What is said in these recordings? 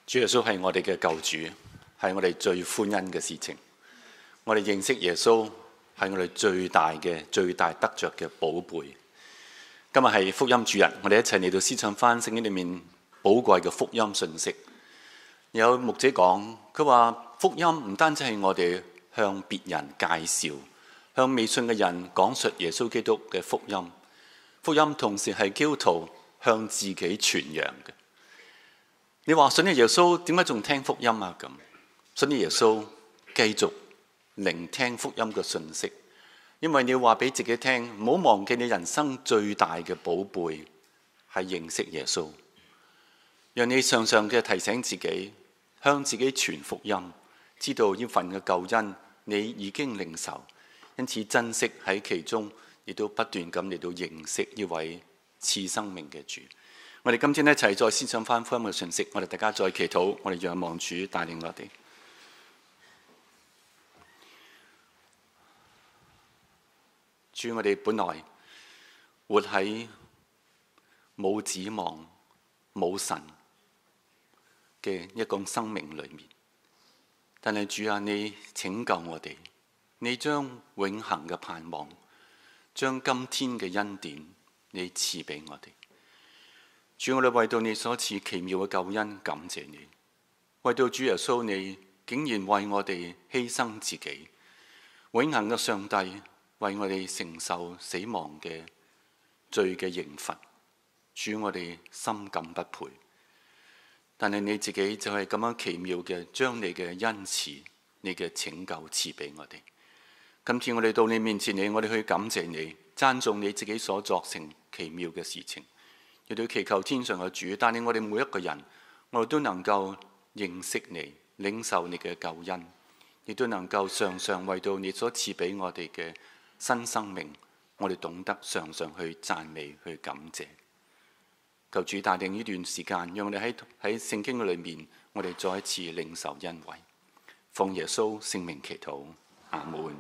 主耶穌係我哋嘅救主，係我哋最歡欣嘅事情。我哋認識耶穌係我哋最大得着嘅寶貝。今日係福音主日，我哋一齊嚟到思想翻聖經裏面寶貴嘅福音信息。有牧者講，佢話福音唔單止係我哋向別人介紹，向未信嘅人講述耶穌基督嘅福音。福音同時係基督徒向自己傳揚嘅。你話信咗耶穌，點解仲聽福音啊？咁信咗耶穌，繼續聆聽福音嘅信息，因為你要話俾自己聽，唔好忘記你人生最大嘅寶貝係認識耶穌。讓你常常嘅提醒自己，向自己傳福音，知道呢份嘅救恩你已經領受，因此珍惜喺其中，亦都不斷咁嚟到認識呢位賜生命嘅主。我哋今天一齊再思想翻福音嘅信息，我哋大家再祈禱，我哋仰望主帶領我哋。主，我哋本來活喺冇指望、冇神嘅一個生命裏面，但係主啊，你拯救我哋，你將永恆嘅盼望，將今天嘅恩典，你賜俾我哋。主，我哋為到你所賜奇妙嘅救恩，感謝你。為到主耶穌，你竟然為我哋犧牲自己，永恆嘅上帝為我哋承受死亡嘅罪嘅刑罰。主，我哋深感不配，但係你自己就係咁樣奇妙嘅，將你嘅恩慈、你嘅拯救賜俾我哋。今次我哋到你面前，我哋去感謝你，讚頌你自己所作成奇妙嘅事情。亦都祈求天上嘅主帶領我哋每一個人，我哋都能夠認識你，領受你嘅救恩，亦都能夠常常為到你所賜俾我哋嘅新生命，我哋懂得常常去讚美、去感謝。求主帶領呢段時間，讓我哋喺聖經嘅裏面，我哋再一次領受恩惠。奉耶穌聖名祈禱，阿門。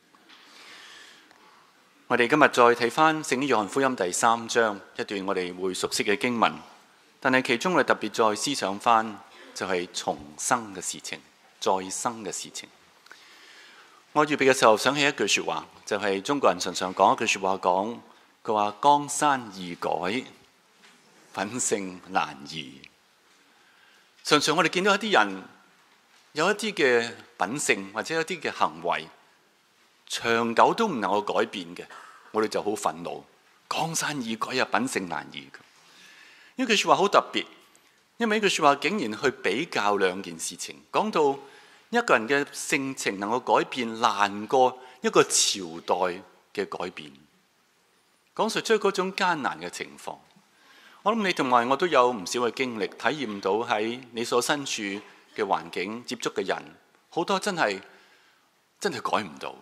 我哋今日再睇翻聖經約翰福音第3章一段我哋會熟悉嘅經文，但係其中我哋特別再思想翻就係重生嘅事情、再生嘅事情。我預備嘅時候想起一句說話，就係中國人常常講一句說話，佢話江山易改，品性難移。常常我哋見到一啲人有一啲嘅品性或者一啲嘅行為，長久都唔能夠改變嘅，我哋就好憤怒。江山易改啊，品性難移。呢句說話好特別，因為呢句說話竟然去比較兩件事情，講到一個人嘅性情能夠改變，難過一個朝代嘅改變，講述出嗰種艱難嘅情況。我諗你同埋我都有唔少嘅經歷，體驗到喺你所身處嘅環境接觸嘅人，好多真係改唔到。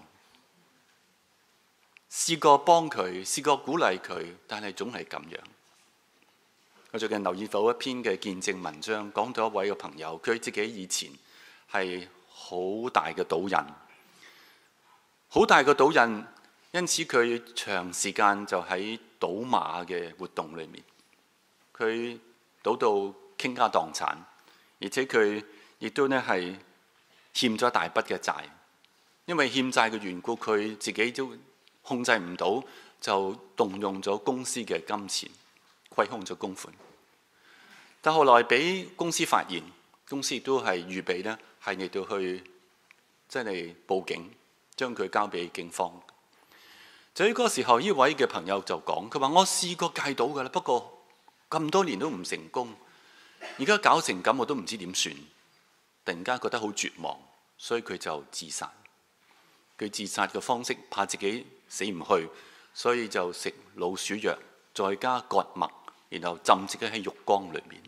試過幫佢，試過鼓勵佢，但係總係咁樣。我最近留意到一篇嘅見證文章，講到一位嘅朋友，佢自己以前係好大嘅賭癮，好大嘅賭癮，因此佢長時間就喺賭馬嘅活動裏面，佢賭到傾家蕩產，而且佢亦都係欠咗大筆嘅債，因為欠債嘅緣故，佢自己都控制唔到，就動用咗公司嘅金錢，虧空咗公款。但後來俾公司發現，公司亦都係預備呢係嚟到去真係報警，將佢交俾警方。就喺嗰個時候，呢位嘅朋友就講，佢話我試過戒賭㗎啦，不過咁多年都唔成功，而家搞成咁，我都唔知點算。突然間覺得好絕望，所以佢就自殺。佢自殺嘅方式，怕自己死唔去，所以就食老鼠藥，再加割脈，然後浸自己喺浴缸裏面。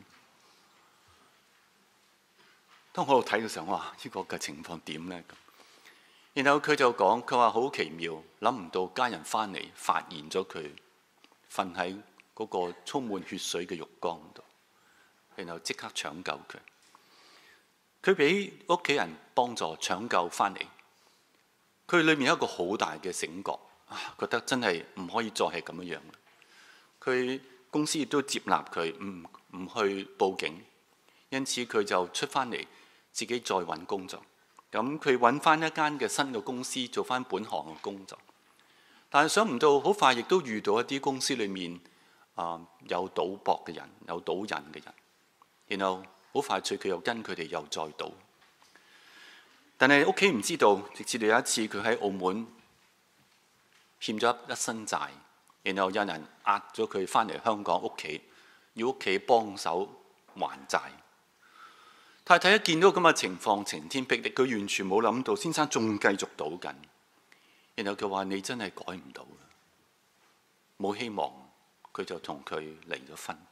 當我喺度睇嘅時候，哇！呢個嘅情況點呢？然後佢就講，佢話好奇妙，諗唔到家人翻嚟發現咗佢瞓喺嗰個充滿血水嘅浴缸度，然後即刻搶救佢。佢俾屋企人幫助搶救翻嚟。佢裏面有一個好大嘅醒覺，覺得真係唔可以再係咁樣。佢公司亦都接納佢，唔去報警， 因此佢就出翻嚟自己再揾工作。咁佢揾翻一間嘅新嘅公司做翻本行嘅工作，但係想唔到好快亦都遇到一啲公司裏面有賭博嘅人，有賭癮嘅人，然後好快脆佢又跟佢哋又再賭。但係屋企唔知道，直至到有一次佢喺澳門欠咗一身債，然後有人押咗佢翻嚟香港屋企，要屋企幫手還債。太太一見到咁嘅情況，晴天霹靂，佢完全冇諗到先生仲繼續賭緊。然後佢話：你真係改唔到，冇希望。佢就同佢離咗婚。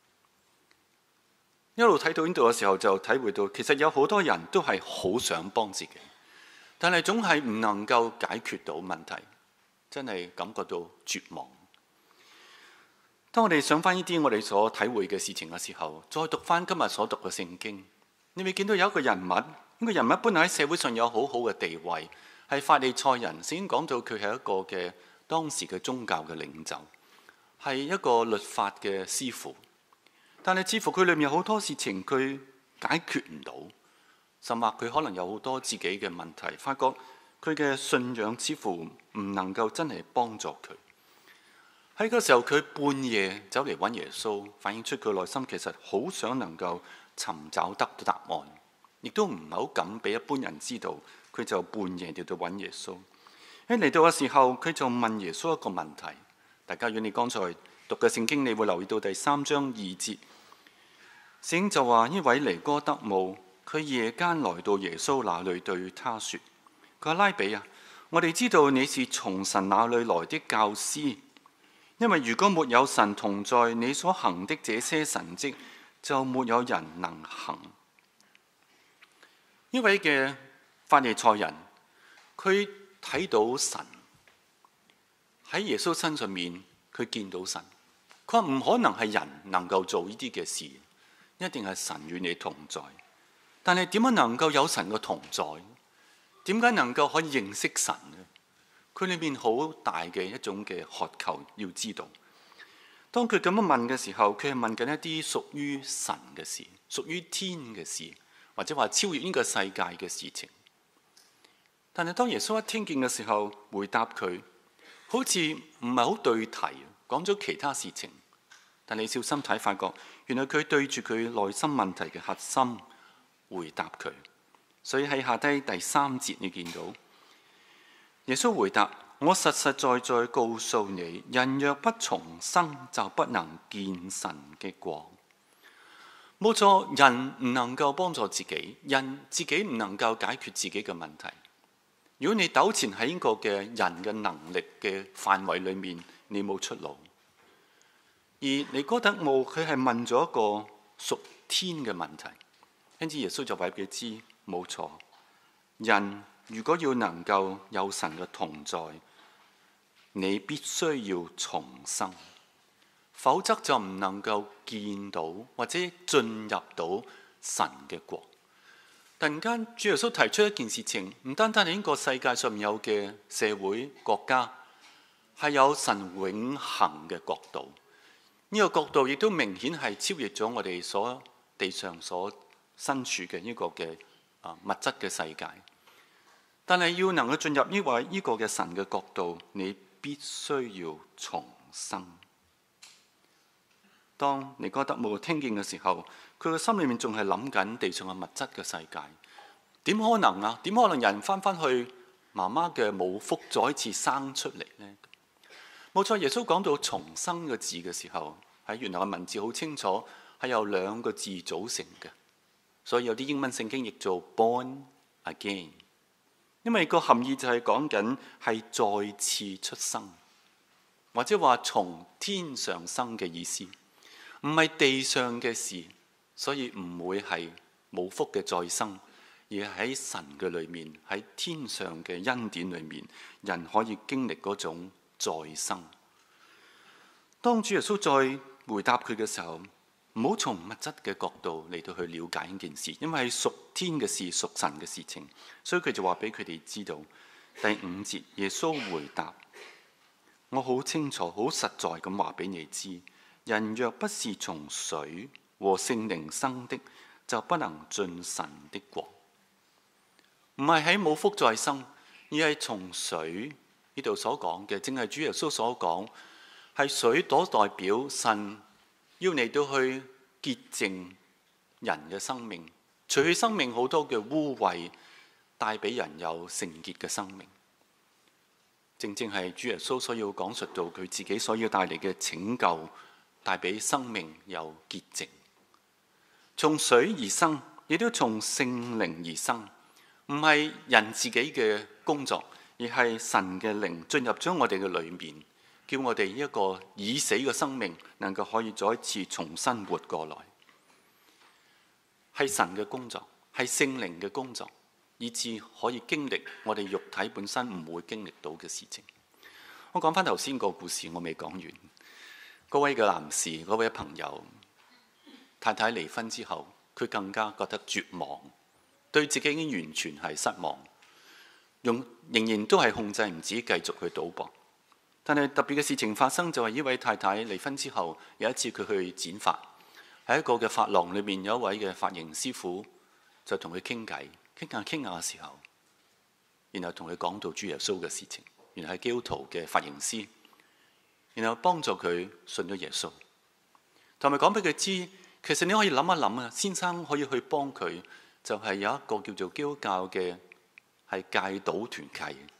一路睇到呢度嘅時候，就體會到其實有好多人都係好想幫自己，但係總係唔能夠解決到問題，真係感覺到絕望。當我哋想翻呢啲我哋所體會嘅事情嘅時候，再讀翻今日所讀嘅聖經，你會見到有一個人物，呢個人物本來喺社會上有好好嘅地位，係法利賽人，先講到佢係一個嘅當時嘅宗教嘅領袖，係一個律法嘅師傅。但係似乎佢裏面有好多事情佢解決唔到，甚或佢可能有好多自己嘅問題，發覺佢嘅信仰似乎唔能夠真係幫助佢。喺嗰時候佢半夜走嚟揾耶穌，反映出佢內心其實好想能夠尋找得答案，亦都唔係好敢俾一般人知道，佢就半夜嚟到揾耶穌。喺嚟到嘅時候，佢就問耶穌一個問題。大家如果你剛才讀嘅聖經，你會留意到第3章2節，聖經就話：呢位尼哥德慕，佢夜間來到耶穌那裏，對他說：佢話拉比啊，我哋知道你是從神那裏來的教師，因為如果沒有神同在，你所行的這些神蹟就沒有人能行。呢位嘅法利賽人，佢睇到神喺耶穌身上面，佢見到神。佢話唔可能係人能夠做呢啲嘅事，一定係神與你同在。但係點樣能夠有神嘅同在？點解能夠可以認識神呢？佢裏面好大嘅一種嘅渴求，要知道。當佢咁樣問嘅時候，佢係問緊一啲屬於神嘅事，屬於天嘅事，或者話超越呢個世界嘅事情。但係當耶穌一聽見嘅時候，回答佢，好似唔係好對題，講咗其他事情。但你小心睇，發覺原來佢對住佢內心問題嘅核心回答佢。所以喺下低第3節你見到耶穌回答：我實實在在告訴你，人若不重生，就不能見神嘅國。冇錯，人唔能夠幫助自己，人自己唔能夠解決自己嘅問題。如果你糾纏喺呢個嘅人嘅能力嘅範圍裏面，你冇出路。而尼哥德慕佢係問咗一個屬天嘅問題，因此耶穌就話俾佢知，冇錯，人如果要能夠有神嘅同在，你必須要重生，否則就唔能夠見到或者進入到神嘅國。突然間，主耶穌提出一件事情，唔單單係呢個世界上面有嘅社會國家，係有神永恆嘅國度。呢個國度亦都明顯係超越咗我哋所地上所身處嘅呢個嘅物質嘅世界。但係要能夠進入呢個嘅神嘅國度，你必須要重生。當尼哥德慕聽見嘅時候，佢個心裏面仲係諗緊地上嘅物質嘅世界。點可能啊？點可能人翻返去媽媽嘅母腹再一次生出嚟呢？冇錯，耶穌講到重生嘅字嘅時候，喺原來嘅文字好清楚，係由2個字組成嘅。所以有啲英文聖經譯做 born again， 因為個含義就係講緊係再次出生，或者話從天上生嘅意思，唔係地上嘅事，所以唔會係母腹嘅再生，而係喺神嘅裏面，喺天上嘅恩典裏面，人可以經歷嗰種再生。當主耶穌再回答佢嘅時候，唔好從物質嘅角度嚟到去了解呢件事，因為係屬天嘅事，屬神嘅事情，所以佢就話俾佢哋知道。第5節，耶穌回答：我好清楚、好實在咁話俾你知，人若不是從水和聖靈生的， 就不能進神的國。唔係喺冇福再生，而係從水呢度所講嘅，正係主耶穌所講，係水所代表神要嚟到去潔淨人嘅生命，除去生命好多嘅污穢，帶俾人有聖潔嘅生命。正正係主耶穌所要講述到佢自己所要帶嚟嘅拯救，帶俾生命有潔淨。從水而生，亦都從聖靈而生，唔係人自己嘅工作，而係神嘅靈進入咗我哋嘅裏面，叫我哋一個已死嘅生命能夠可以再一次重新活過來。係神嘅工作，係聖靈嘅工作，以致可以經歷我哋肉體本身唔會經歷到嘅事情。我講翻頭先個故事，我未講完。嗰位嘅男士，嗰位朋友，太太離婚之後，佢更加覺得絕望，對自己已經完全係失望，仍然都係控制唔止，繼續去賭博。但係特別嘅事情發生，就係呢位太太離婚之後，有一次佢去剪髮，喺一個嘅髮廊裏面，有一位嘅髮型師傅就同佢傾偈，傾下嘅時候，然後同佢講到主耶穌嘅事情，原來係基督徒嘅髮型師，然後幫助佢信咗耶穌，同埋講俾佢知，其實你可以諗一諗啊，先生可以去幫佢，就係有一個叫做基督教嘅係戒賭團契。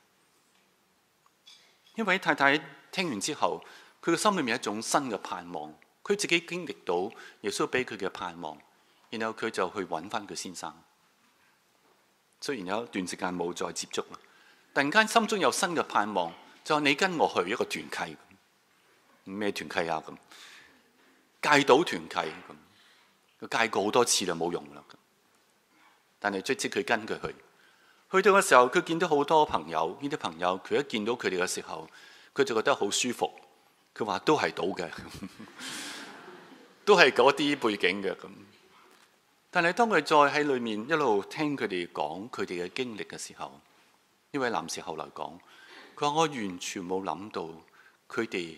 呢位太太聽完之後，佢嘅心裏面有一種新嘅盼望，佢自己經歷到耶穌俾佢嘅盼望，然後佢就去揾翻佢先生。雖然有一段時間冇再接觸啦，突然間心中有新嘅盼望，就話你跟我去一個團契。咩團契啊？咁戒賭團契咁，佢戒過好多次啦，冇用啦。但係即佢跟佢去到嘅時候，佢見到好多朋友，呢啲朋友佢一見到佢哋嘅時候，佢就覺得好舒服。佢話都係賭嘅，都係嗰啲背景嘅咁。但係當佢再喺裏面一路聽佢哋講佢哋嘅經歷嘅時候，呢位男士後來講，佢話我完全冇諗到佢哋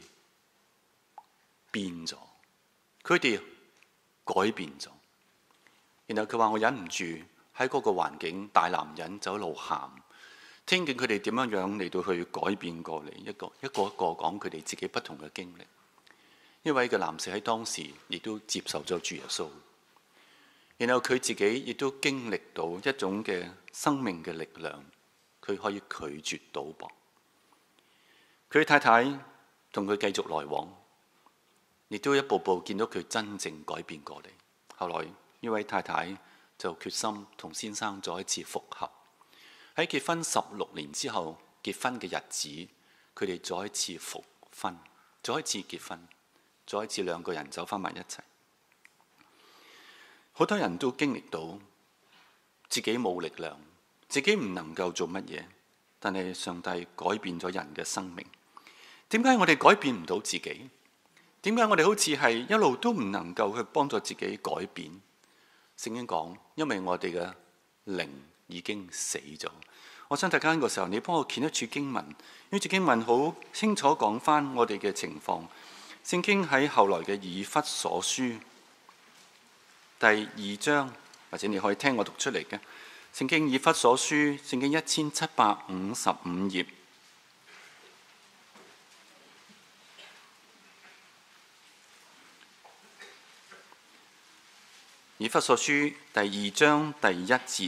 變咗，佢哋改變咗。然後佢話我忍唔住喺嗰個環境，大男人就一路喊，聽見佢哋點樣嚟到去改變過嚟，一個一個講佢哋自己不同嘅經歷。呢位嘅男士喺當時亦都接受咗主耶穌，然後佢自己亦都經歷到一種嘅生命嘅力量，佢可以拒絕賭博。佢太太同佢繼續來往，亦都一步步見到佢真正改變過嚟。後來呢位太太就決心同先生再一次復合。喺結婚16年之後，結婚嘅日子，佢哋再一次復婚，再一次結婚，再一次兩個人走翻埋一齊。好多人都經歷到自己冇力量，自己唔能夠做乜嘢，但係上帝改變咗人嘅生命。點解我哋改變唔到自己？點解我哋好似係一路都唔能夠去幫助自己改變？聖經講，因為我哋嘅靈已經死咗。我想大家呢個時候，你幫我揀一處經文，呢處經文好清楚講翻我哋嘅情況。聖經喺後來嘅以弗所書第2章，或者你可以聽我讀出嚟嘅。聖經以弗所書，聖經1755頁。以弗所書第2章第1節，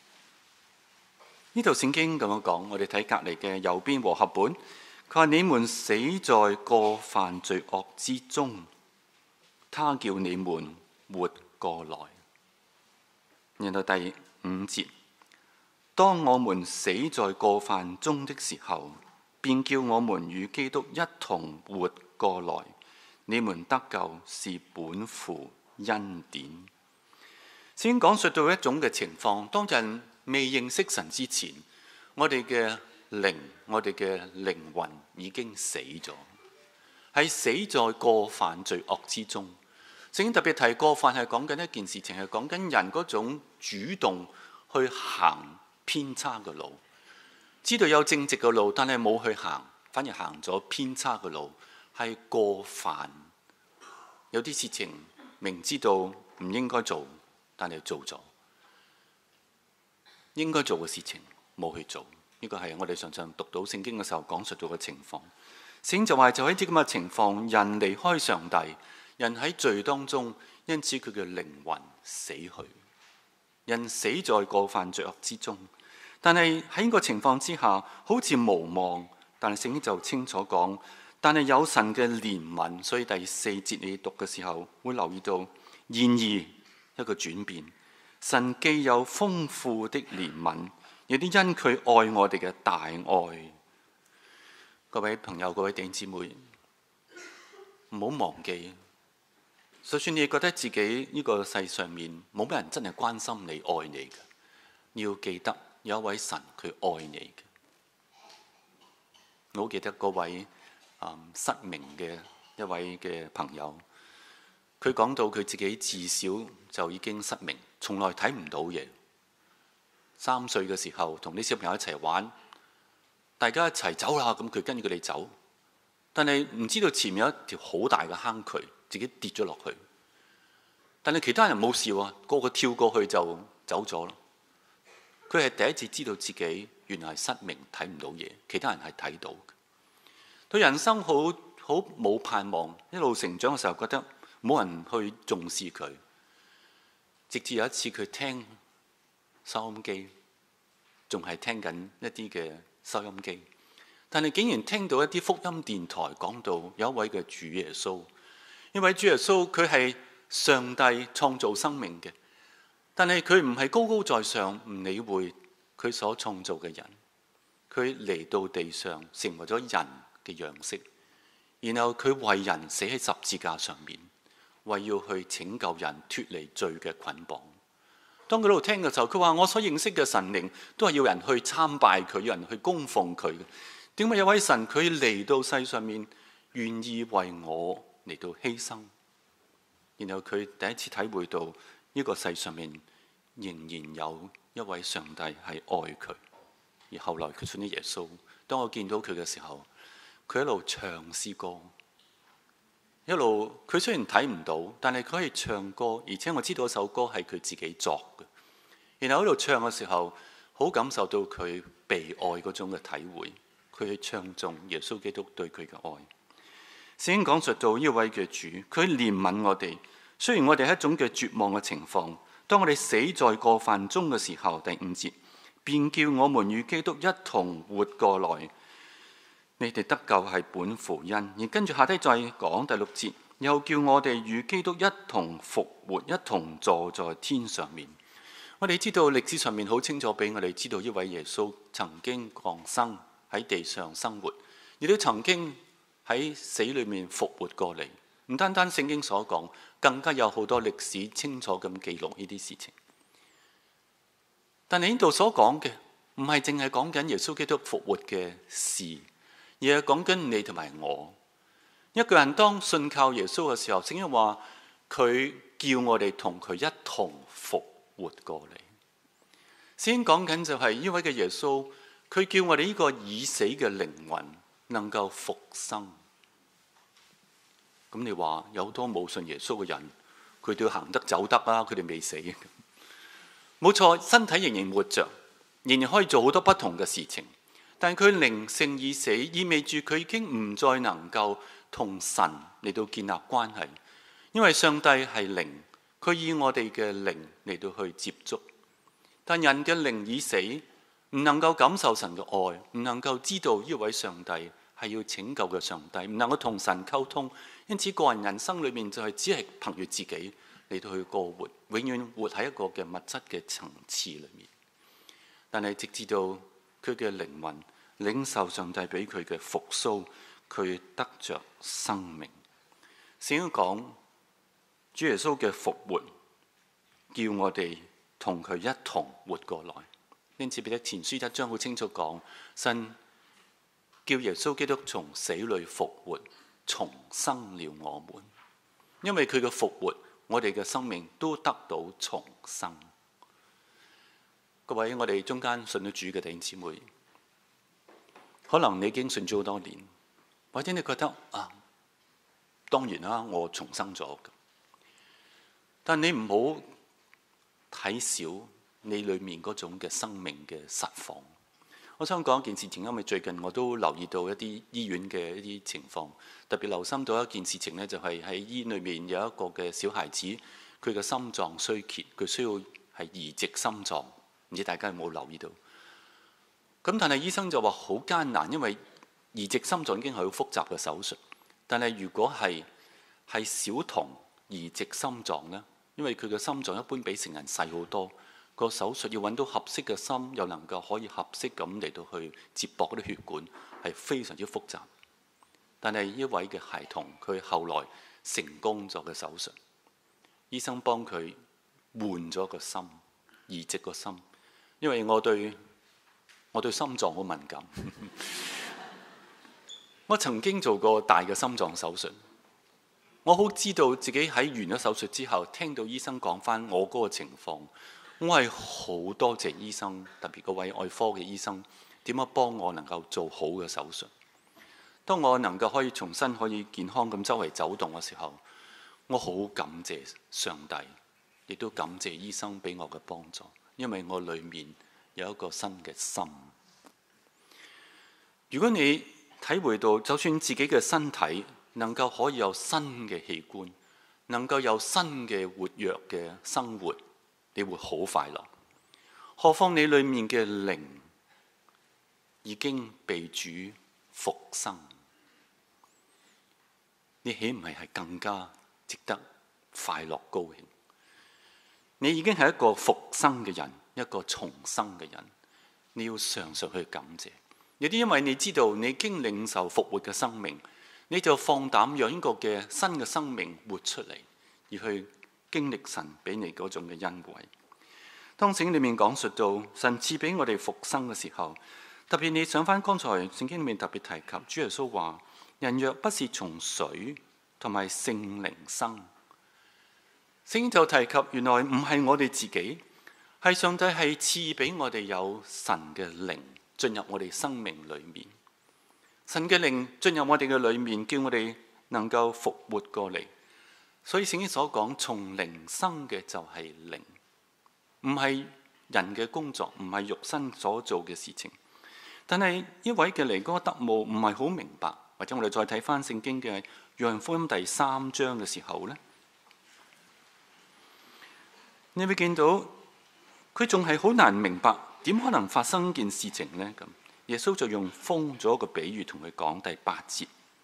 呢度聖經咁樣講，我哋睇隔離嘅右邊和合本，佢話你們死在過犯罪惡之中，他叫你們活過來。然後第5節，當我們死在過犯中的時候，便叫我們與基督一同活過來。你們得救是本乎恩典。先講述到一種嘅情況，當人未認識神之前，我哋嘅靈，我哋嘅靈魂已經死咗，係死在過犯罪惡之中。聖經特別提過犯係講緊一件事情，係講緊人嗰種主動去行偏差嘅路，知道有正直嘅路，但係冇去行，反而行咗偏差嘅路，係過犯。有啲事情明知道唔應該做， 但係做咗應該做嘅事情冇去做。呢個係我哋常常讀到聖經嘅時候講述到嘅情況。聖經就話就喺啲咁嘅情況，人離開上帝，人喺罪當中，因此佢嘅靈魂死去，人死在過犯罪惡之中。但係喺呢個情況之下，好似無望，但係聖經就清楚講，但係有神嘅憐憫。所以第4節你讀嘅時候會留意到，然而一個轉變，神既有豐富的憐憫，亦都因佢愛我哋嘅大愛。各位朋友，各位弟兄姊妹，唔好忘記，就算你覺得自己呢個世上面冇乜人真係關心你、愛你嘅，你要記得有一位神佢愛你嘅。我好記得嗰位失明嘅一位嘅朋友，佢講到佢自己自小就已經失明，從來睇唔到嘢。3歲嘅時候同啲小朋友一齊玩，大家一齊走啦，咁佢跟住佢哋走，但係唔知道前面有一條好大嘅坑渠，自己跌咗落去。但係其他人冇事喎，個個跳過去就走咗咯。佢係第一次知道自己原來係失明，睇唔到嘢，其他人係睇到嘅。對人生好冇盼望，一路成長嘅時候覺得冇人去重視佢，直至有一次佢聽收音機，仲係聽緊一啲嘅收音機，但係竟然聽到一啲福音電台講到有一位嘅主耶穌，因為主耶穌佢係上帝創造生命嘅，但係佢唔係高高在上，唔理會佢所創造嘅人，佢嚟到地上成為咗人嘅樣式，然後佢為人死喺十字架上面，為要去拯救人脫離罪嘅捆綁。當佢喺度聽嘅時候，佢話：我所認識嘅神靈都係要人去參拜佢，要人去供奉佢嘅。點解有位神佢嚟到世上面，願意為我嚟到犧牲？然後佢第一次體會到呢個世上面仍然有一位上帝係愛佢。而後來佢信咗耶穌。當我見到佢嘅時候，佢一路唱詩歌，一路佢雖然睇唔到，但係佢可以唱歌，而且我知道嗰首歌係佢自己作嘅。然後喺度唱嘅時候，好感受到佢被愛嗰種嘅體會，佢去唱頌耶穌基督對佢嘅愛。聖經講述到呢位嘅主，佢憐憫我哋。雖然我哋係一種嘅絕望嘅情況，當我哋死在過犯中嘅時候，第5節，便叫我們與基督一同活過來。你哋得救係本乎恩，而跟住下低再講第6節，又叫我哋與基督一同復活，一同坐在天上面。我哋知道歷史上面好清楚俾我哋知道，呢位耶穌曾經降生喺地上生活，亦都曾經喺死裏面復活過嚟。唔單單聖經所講，更加有好多歷史清楚咁記錄呢啲事情。但係呢度所講嘅唔係淨係講緊耶穌基督復活嘅事，而係講緊你同埋我。一個人當信靠耶穌嘅時候，聖經話佢叫我哋同佢一同復活過嚟。聖經講緊就係呢位嘅耶穌，佢叫我哋呢個已死嘅靈魂能夠復生。咁你話有好多冇信耶穌嘅人，佢哋行得走得啊，佢哋未死。冇錯，身體仍然活着，仍然可以做好多不同嘅事情。但佢靈性已死，意味住佢已經唔再能夠同神嚟到建立關係。因為上帝係靈，佢以我哋嘅靈嚟到去接觸。但人嘅靈已死，唔能夠感受神嘅愛，唔能夠知道呢位上帝係要拯救嘅上帝，唔能夠同神溝通。因此個人人生裏面就係只係憑住自己嚟到去過活，永遠活喺一個嘅物質嘅層次裏面。但係直至到佢嘅靈魂領受上帝俾佢嘅復甦，佢得着生命。聖經講主耶穌嘅復活，叫我哋同佢一同活過來。因此彼得前書1章好清楚講，神叫耶穌基督從死裏復活，重生了我們。因為佢嘅復活，我哋嘅生命都得到重生。各位，我哋中間信咗主嘅弟兄姊妹，可能你已經信咗好多年，或者你覺得當然啦，我重生咗。但你唔好睇小你裏面嗰種嘅生命嘅實況。我想講一件事情，因為最近我都留意到一啲醫院嘅一啲情況，特別留心到一件事情呢，就係喺醫院裏面有一個嘅小孩子，佢嘅心臟衰竭，佢需要係移植心臟，唔知大家有冇留意到？咁但係醫生就話好艱難，因為移植心臟已經係好複雜嘅手術。但係如果係小童移植心臟呢，因為佢嘅心臟一般比成人細好多。個手術要揾到合適嘅心，又能夠可以合適咁嚟到去接駁嗰啲血管，係非常之複雜。但係一位嘅孩童，佢後來成功咗嘅手術，醫生幫佢換咗個心，移植個心。因為我對心臟好敏感，我曾經做過大嘅心臟手術，我好知道自己喺完咗手術之後，聽到醫生講返我嗰個情況。我係好多謝醫生，特別嗰位外科嘅醫生，點樣幫我能夠做好嘅手術。當我能夠可以重新可以健康咁周圍走動嘅時候，我好感謝上帝，亦都感謝醫生俾我嘅幫助，因為我裡面有一個新嘅心。如果你體會到，就算自己嘅身體能夠可以有新嘅器官，能夠有新嘅活躍嘅生活，你會好快樂，何況你裏面嘅靈已經被主復生，你豈唔係更加值得快樂高興？你已經係一個復生嘅人，一個重生嘅人，你要常常去感謝。有啲因為你知道你已經領受復活嘅生命，你就放膽讓呢個嘅新嘅生命活出嚟，而去經歷神俾你嗰種嘅恩惠。當聖經裏面講述到神賜俾我哋復生嘅時候，特別你想翻剛才聖經裏面特別提及，主耶穌話：人若不是從水同埋聖靈生，聖經就提及原來唔係我哋自己，係上帝係賜俾我哋有神嘅靈進入我哋生命裏面。神嘅靈進入我哋嘅裏面，叫我哋能夠復活過嚟。所以聖經所講從靈生嘅就係靈，唔係人嘅工作，唔係肉身所做嘅事情。但係呢位嘅尼哥底母唔係好明白，或者我哋再睇翻聖經嘅約翰福音第3章嘅時候呢，你會見到佢仲係好難明白點可能發生件事情呢？咁耶穌就用風做一個比喻同佢講，第8節。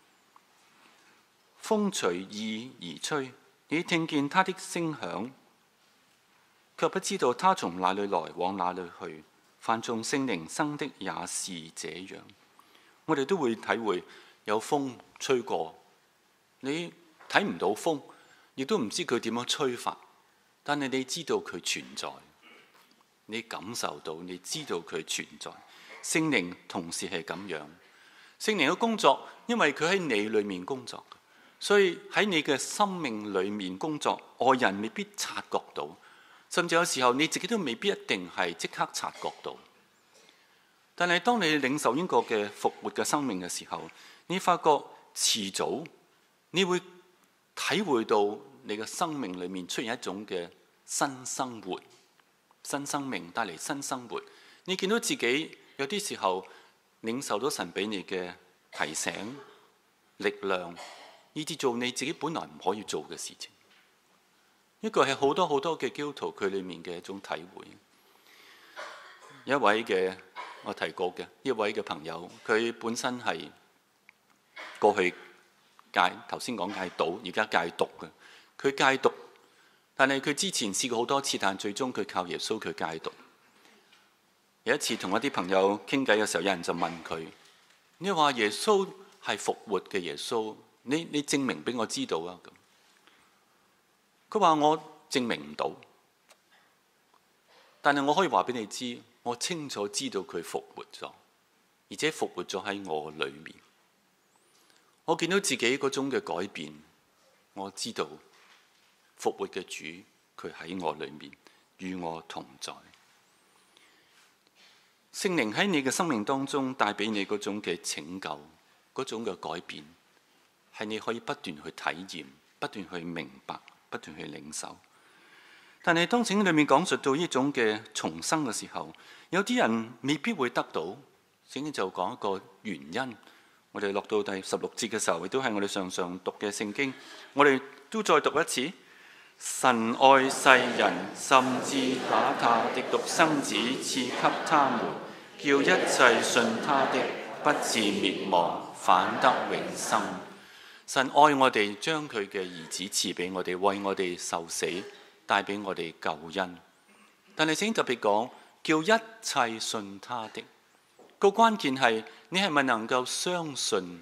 風隨意而吹，你聽見他的聲響，卻不知道他從哪裏來，往哪裏去。凡從聖靈生的也是這樣。我哋都會體會有風吹過，你睇唔到風，亦都唔知佢點樣吹法，但係你知道佢存在，你感受到，你知道佢存在。聖靈同時係咁樣，聖靈嘅工作，因為佢喺你裏面工作，所以喺你嘅生命裏面工作，外人未必察覺到，甚至有時候你自己都未必一定係即刻察覺到。但係當你領受呢個嘅復活嘅生命嘅時候，你發覺遲早你會體會到你嘅生命裏面出現一種嘅新生活，新生命帶嚟新生活。你見到自己有啲時候領受到神俾你嘅提醒、力量，以至做你自己本來唔可以做嘅事情。呢個係好多好多嘅基督徒佢裏面嘅一種體會。一位嘅我提過嘅一位嘅朋友，佢本身係過去頭先講戒賭，而家戒毒嘅。佢戒毒，但係佢之前試過好多次，但最終佢靠耶穌佢戒毒。有一次同一啲朋友傾偈嘅時候，有人就問佢：你話耶穌係復活嘅耶穌，你證明俾我知道啊？咁佢話：我證明唔到，但係我可以話俾你知，我清楚知道佢復活咗，而且復活咗喺我裏面。我見到自己嗰種嘅改變，我知道復活嘅主佢喺我裏面，與我同在。聖靈喺你嘅生命當中帶俾你嗰種嘅拯救，嗰種嘅改變，係你可以不斷去體驗、不斷去明白、不斷去領受。 但係當聖經裏面講述到呢種嘅重生嘅時候，有啲人未必會得到。聖經就講一個原因。我哋落到第16節嘅時候，亦都係我哋常常讀嘅聖經。我哋都再讀一次：神愛世人，甚至把他的獨生子賜給他們，叫一切信他的不至滅亡，反得永生。神愛我哋，將佢嘅兒子賜俾我哋，為我哋受死，帶俾我哋救恩。但係聖經特別講，叫一切信他的。個關鍵係你係咪能夠相信？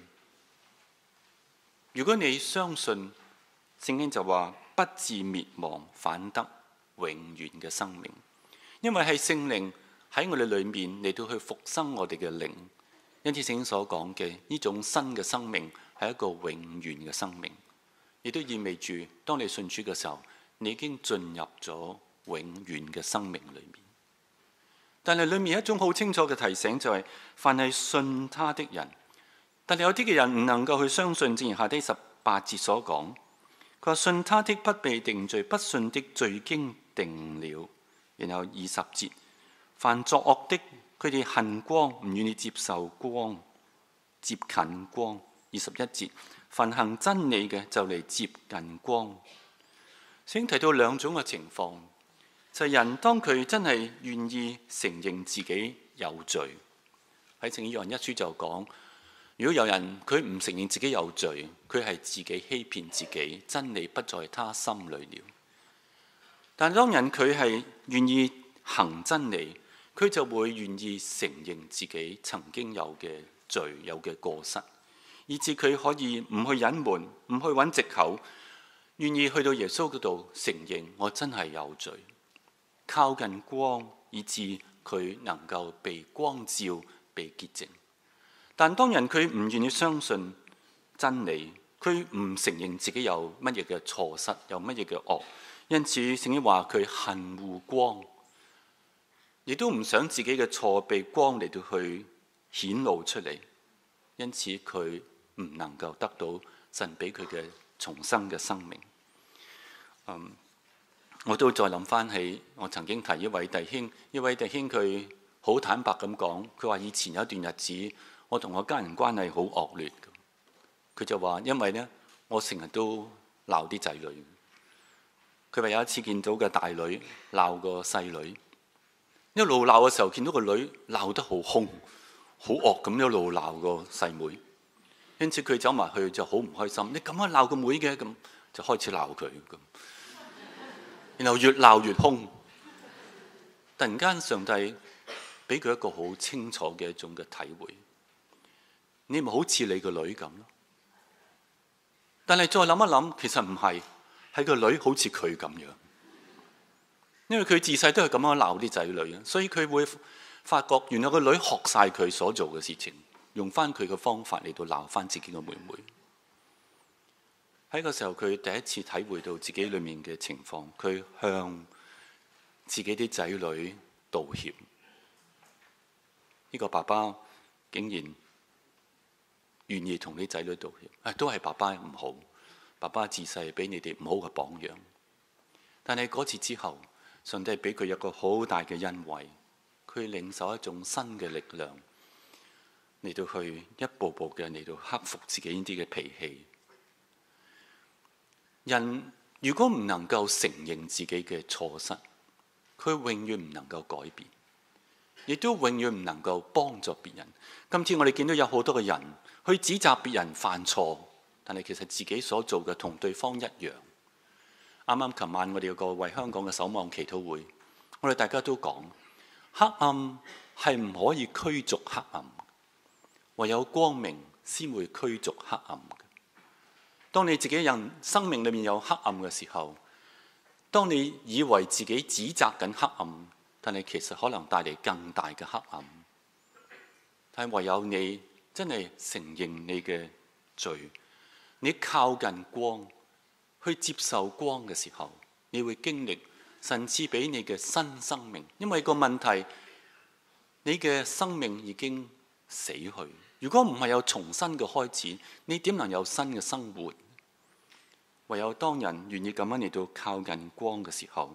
如果你相信，聖經就話不至滅亡，反得永遠嘅生命。因為係聖靈喺我哋裏面嚟到去復生我哋嘅靈。因此聖經所講嘅呢種新嘅生命係一個永遠嘅生命，亦都意味住當你信主嘅時候，你已經進入咗永遠嘅生命裏面。但係裏面一種好清楚嘅提醒就係，凡係信他的人，但係有啲嘅人唔能夠去相信。正如下低18節所講，佢話信他的不被定罪，不信的罪經定了。然後20節，凡作惡的，佢哋恨光，唔願意接受光，接近光。21節，凡行真理嘅就嚟接近光。先提到兩種嘅情況。就係人當佢真係願意承認自己有罪，喺聖經約翰1書就講，如果有人佢唔承認自己有罪，佢係自己欺騙自己，真理不在他心裏了。但當人佢係願意行真理，佢就會願意承認自己曾經有嘅罪，有嘅過失，以致佢可以唔去隱瞞，唔去揾藉口，願意去到耶穌嗰度承認我真係有罪。靠近光，以致佢能夠被光照、被潔淨。但當人佢唔願意相信真理，佢唔承認自己有乜嘢嘅錯失，有乜嘢嘅惡，因此聖經話佢恨惡光，亦都唔想自己嘅錯被光嚟到去顯露出嚟，因此佢唔能夠得到神俾佢嘅重生嘅生命。我都再諗翻起，我曾經提一位弟兄，佢好坦白咁講，佢話以前有一段日子，我同我家人關係好惡劣。佢就話因為呢，我成日都鬧啲仔女。佢話有一次見到個大女鬧個細女，一路鬧嘅時候見到個女鬧得好兇，好惡咁一路鬧個細妹，因此佢走埋去就好唔開心。你咁樣鬧個妹嘅，咁就開始鬧佢咁。然後越鬧越兇，突然間上帝俾佢一個好清楚嘅一種嘅體會，你咪好似你個女咁咯。但係再諗一諗，其實唔係，係個女好似佢咁樣，因為佢自細都係咁樣鬧啲仔女，所以佢會發覺原來個女學晒佢所做嘅事情，用翻佢嘅方法嚟到鬧翻自己嘅妹妹。喺個時候，佢第一次體會到自己裏面嘅情況，佢向自己啲仔女道歉。呢個爸爸竟然願意同啲仔女道歉，都係爸爸唔好，爸爸自細俾你哋唔好嘅榜樣。但係嗰次之後，上帝俾佢一個好大嘅恩惠，佢領受一種新嘅力量，嚟到去一步步嘅嚟到克服自己呢啲嘅脾氣。人如果唔能夠承認自己嘅錯失，佢永遠唔能夠改變，亦都永遠唔能夠幫助別人。今次我哋見到有好多嘅人去指責別人犯錯，但係其實自己所做嘅同對方一樣。啱啱琴晚我哋有個為香港嘅守望祈禱會，我哋大家都講，黑暗係唔可以驅逐黑暗，唯有光明先會驅逐黑暗。當你自己人生命裏面有黑暗嘅時候，當你以為自己指責緊黑暗，但係其實可能帶嚟更大嘅黑暗。但係唯有你真係承認你嘅罪，你靠近光，去接受光嘅時候，你會經歷神賜俾你嘅新生命。因為個問題，你嘅生命已經死去。如果唔係有重新嘅開始，你點能有新嘅生活？唯有當人願意咁樣嚟到靠近光嘅時候，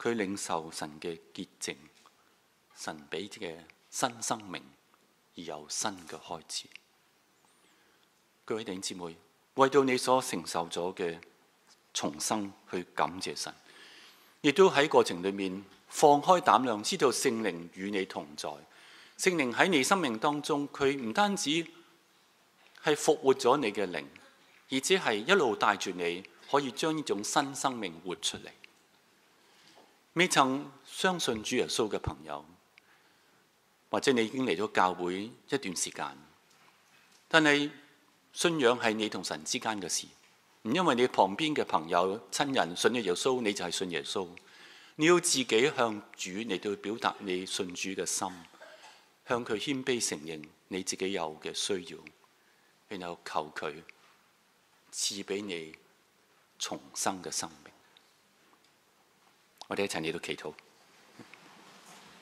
佢領受神嘅潔淨，神俾嘅新生命，而有新嘅開始。各位弟兄姊妹，為到你所承受咗嘅重生去感謝神，亦都喺過程裏面放開膽量，知道聖靈與你同在。聖靈喺你生命當中，佢唔單止係復活咗你嘅靈，而且係一路帶住你，可以將呢種新生命活出嚟。未曾相信主耶穌嘅朋友，或者你已經嚟咗教會一段時間，但係信仰係你同神之間嘅事，唔因為你旁邊嘅朋友親人信咗耶穌，你就係信耶穌。你要自己向主嚟到表達你信主嘅心，向佢謙卑承認你自己有嘅需要，然後求佢賜俾你重生嘅生命。我哋一齊嚟到祈禱。